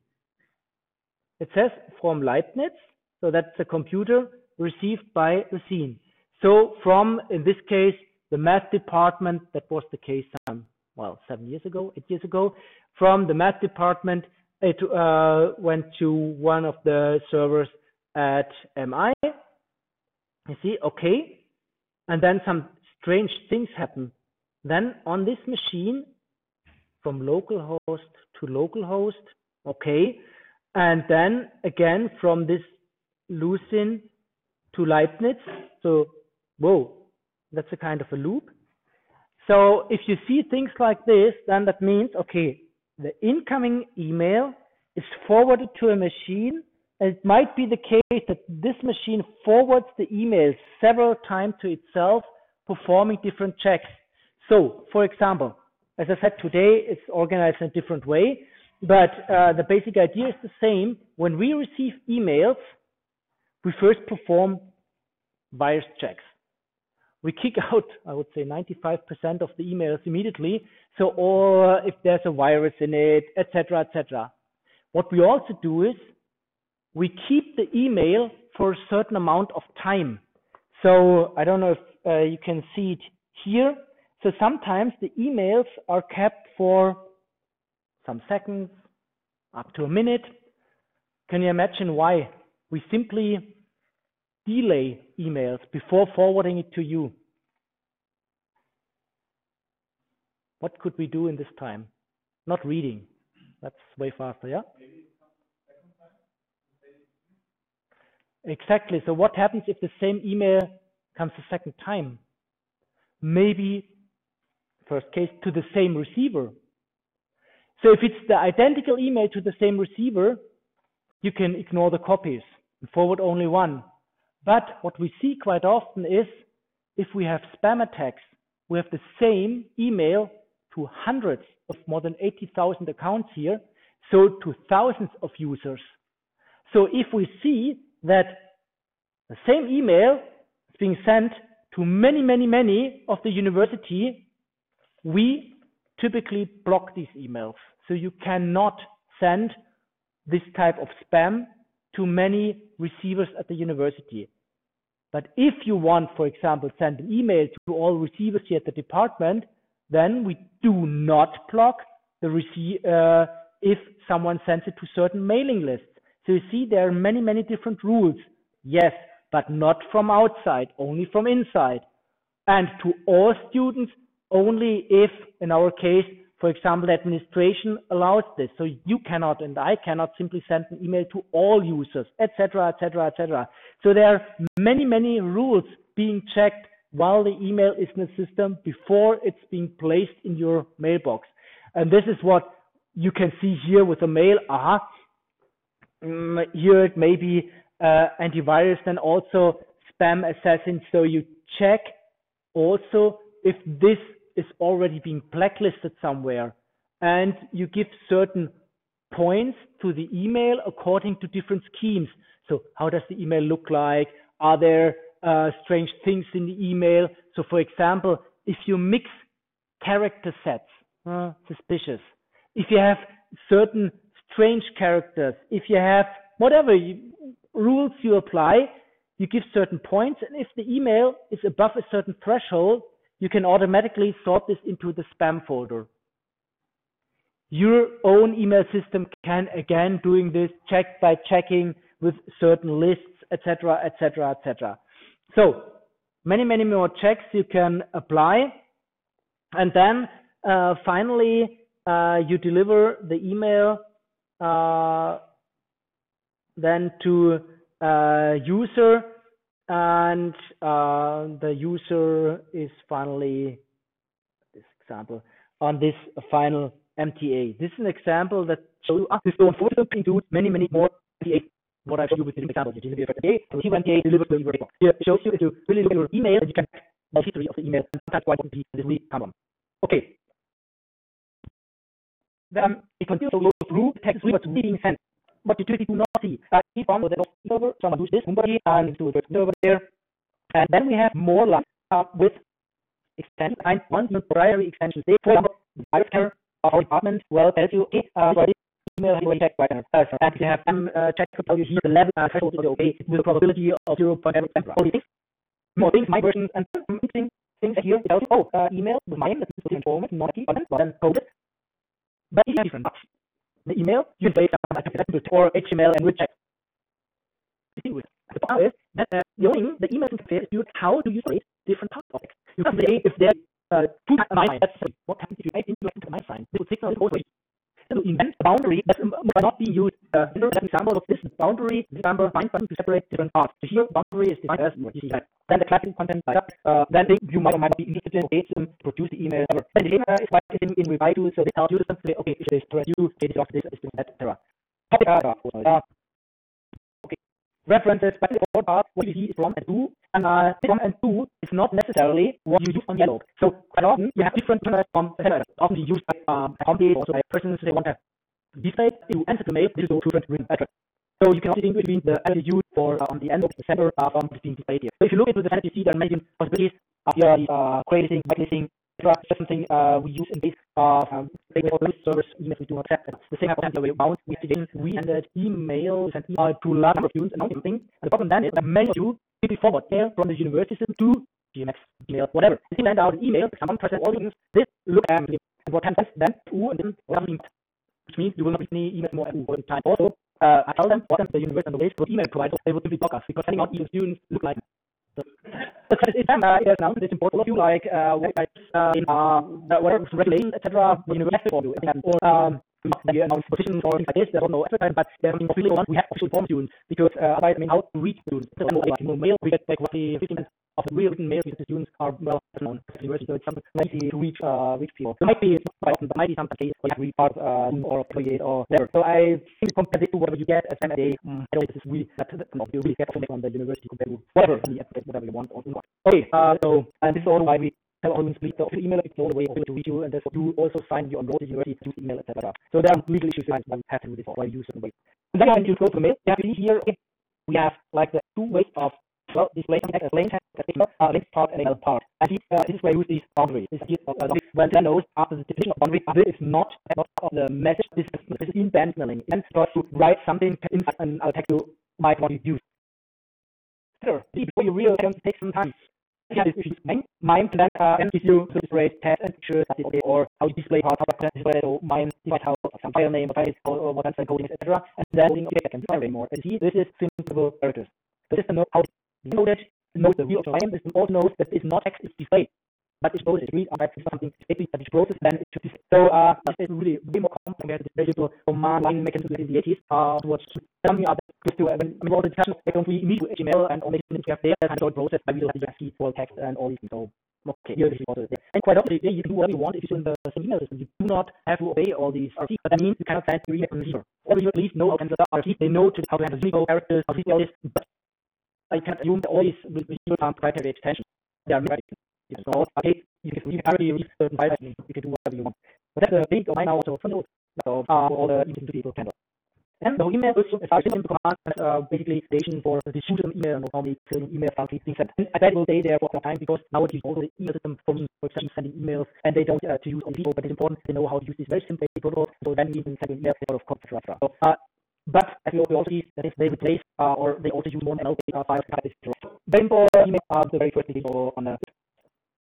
It says from Leibniz, so that's a computer received by Lucene. So from, in this case, the math department, that was the case some, well, seven years ago, eight years ago, from the math department, it uh, went to one of the servers at M I. You see, okay, and then some strange things happen. Then on this machine, from localhost to localhost, okay, and then again from this Lucene to Leibniz. So, whoa, that's a kind of a loop. So if you see things like this, then that means, okay, the incoming email is forwarded to a machine. And it might be the case that this machine forwards the email several times to itself, performing different checks. So, for example, as I said, today it's organized in a different way, but uh, the basic idea is the same. When we receive emails, we first perform virus checks. We kick out, I would say, ninety-five percent of the emails immediately. So, or if there's a virus in it, et cetera, et cetera. What we also do is we keep the email for a certain amount of time. So I don't know if uh, you can see it here. So sometimes the emails are kept for some seconds, up to a minute. Can you imagine why? We simply delay emails before forwarding it to you. What could we do in this time? Not reading. That's way faster, yeah? Exactly. So what happens if the same email comes a second time? Maybe, first case, to the same receiver. So if it's the identical email to the same receiver, you can ignore the copies and forward only one. But what we see quite often is, if we have spam attacks, we have the same email to hundreds of more than eighty thousand accounts here, so to thousands of users. So if we see that the same email is being sent to many, many, many of the university, we typically block these emails. So you cannot send this type of spam to many receivers at the university. But if you want, for example, send an email to all receivers here at the department, then we do not block the receive uh, if someone sends it to certain mailing lists. So you see, there are many, many different rules. Yes, but not from outside, only from inside. And to all students, only if, in our case, for example, the administration allows this. So you cannot and I cannot simply send an email to all users, et cetera, et cetera, et cetera. So there are many, many rules being checked while the email is in the system before it's being placed in your mailbox. And this is what you can see here with the mail. Aha. Um, here it may be uh, antivirus, then also spam assassin. So you check also if this is already being blacklisted somewhere, and you give certain points to the email according to different schemes. So how does the email look like? Are there uh, strange things in the email? So for example, if you mix character sets, uh, suspicious. If you have certain strange characters, if you have whatever you, rules you apply, you give certain points, and if the email is above a certain threshold, you can automatically sort this into the spam folder. your own email system can again doing this check by checking with certain lists, et cetera, et cetera, et cetera. So many, many more checks you can apply, and then uh, finally uh, you deliver the email uh, then to uh, user, and uh, the user is finally, this example, on this final M T A. This is an example that shows ah, this unfortunately includes many, many more M T A. What I showed you with this example, you deliver M T A, so M T A delivers the email. Here it shows you if you really look at your email, you can the history of the email, and that's why this is really common. Okay. Then it continues to go through the text what's being sent. But you typically do not see. Uh, each one with the server, someone does this, somebody, and to the server there. And then we have more lines uh, with extensions, and one temporary extension. Say, for example, the virus scanner of our department will tell you, okay, uh, for this email, you will check right now. Uh, and if you have some uh, check to tell you here the level uh, threshold is okay, with a probability of zero point zero percent. All these things, more things, my versions, and some interesting things here. It tells you, oh, uh, email with mine, that is informative, not key, but then coded. But it's different. The email, you can place some or H T M L and recheck. The point is that uh, the only thing the email interface is how do you separate different parts of it. You can say if there's uh, two nine, that's what happens if you add into a nine sign. This would signal both ways. So invent a boundary that might not be used. Uh, an example of this boundary, this number nine button to separate different parts. So here, boundary is defined as what you see that. Then the classic content like uh, then you might or might not be interested in okay, to produce the email. Then the data is like in, in reply to, so they tell you to say, okay, if this thread you, this is this, this, et cetera. Topic uh, uh, okay. References, but the important part, what you see is from and to, and uh, from and to is not necessarily what you use on dialog. So quite often you have different terms from uh, often you use by um, companies, also by persons they want to display to answer the mail. This is two different written address. So you can also distinguish between the address you use for uh, on the end of the sender uh, from being displayed here. So if you look into the sender, you see there are many possibilities of your uh, creating, whitelisting, et cetera. Just something uh, we use in base of um, service emails we do not accept. The same happens the way around. We have we send emails and email to a large number of students and something. And the problem then is that many of you quickly forward mail from the university system to G M X, email, whatever. You send out an email, someone presses all students, this look at and what happens then to and then what happens, which means you will not be any emails more all the time. Also, uh, I tell them what the university and the waste for email providers, they will simply block us because sending out email students look like so, but it's time uh, it is now it's important for you like uh, uh, in uh, whatever regulation, et cetera. The university for you, or um, we announce positions or things like this. There's no advertising, but there's something officially on. We have official form students because uh, I mean how to reach students. So like you know, mail we get like roughly fifty percent of the real written mail to the students are well known at the university, so it's something easy to reach uh, reach people. There might be quite often, but might be some cases where you have to read part uh, or affiliate or whatever. So I think compared to whatever you get as M A, um, I don't think this is really that you really get from the university compared to whatever the whatever you want or not. Okay, uh, so and this is also why we tell all split the official email. It's the only way to reach you, and therefore you also sign your enrolled university to email, et cetera. So there are legal issues that we have to do this or why you use certain ways. And then when you go to mail, you have to see here okay, we have like the two ways of well display something as plain text, uh, link part and a part. And this, uh, this is where you use these boundaries. This is uh, when then knows after the definition of boundary, this is not not of the message. This is, this is in-band signaling. And tries to write something inside an uh, text you might want to use. Sure. Before you really take some time. Yeah, this is mine. Mine can uh, gives you to display text and pictures, okay, or how you display how to display. So mine defines how some file name, file or, or what kind of coding, et cetera. And then okay, I can define anymore. And see, this is simple characters. The system knows how to decode it, knows the real time. The system also knows that it's not text, it's displayed. But it's both, it's read and something that it's processed, then it should display. So uh, it's really way more complex compared to the very simple command line mechanism in the eighties. Uh, towards something other close to, uh, when, I mean, all the discussions, they don't really meet with H T M L and all the things we have there, kind of processed by visual ASCII, full text, and all these things. So, okay, here this is also there. And quite often, you can do whatever you want if you're in the same email system. You do not have to obey all these R C, but that means you cannot send your email to the receiver. Or you at least know how to handle the R C, they know to, how to handle single characters, how to do all this, but I can't assume that all these will be proprietary extensions. They are right. So, okay, you can, you can already read certain files, you can do whatever you want. But that's a big of mine now also for notes. So, uh, for all the email people can do. And the email is a simple command that's uh, basically station for the distribution email and normally email function things that I bet will stay there for some time because nowadays also the email system for me, for example, sending emails and they don't uh, to use all people, but it's important they know how to use this very simple protocol. So then we can send an email sort of code, et cetera. So, uh, but as we also see that if they replace uh, or they also use more N L P uh, files, very important email uh, the very first thing on the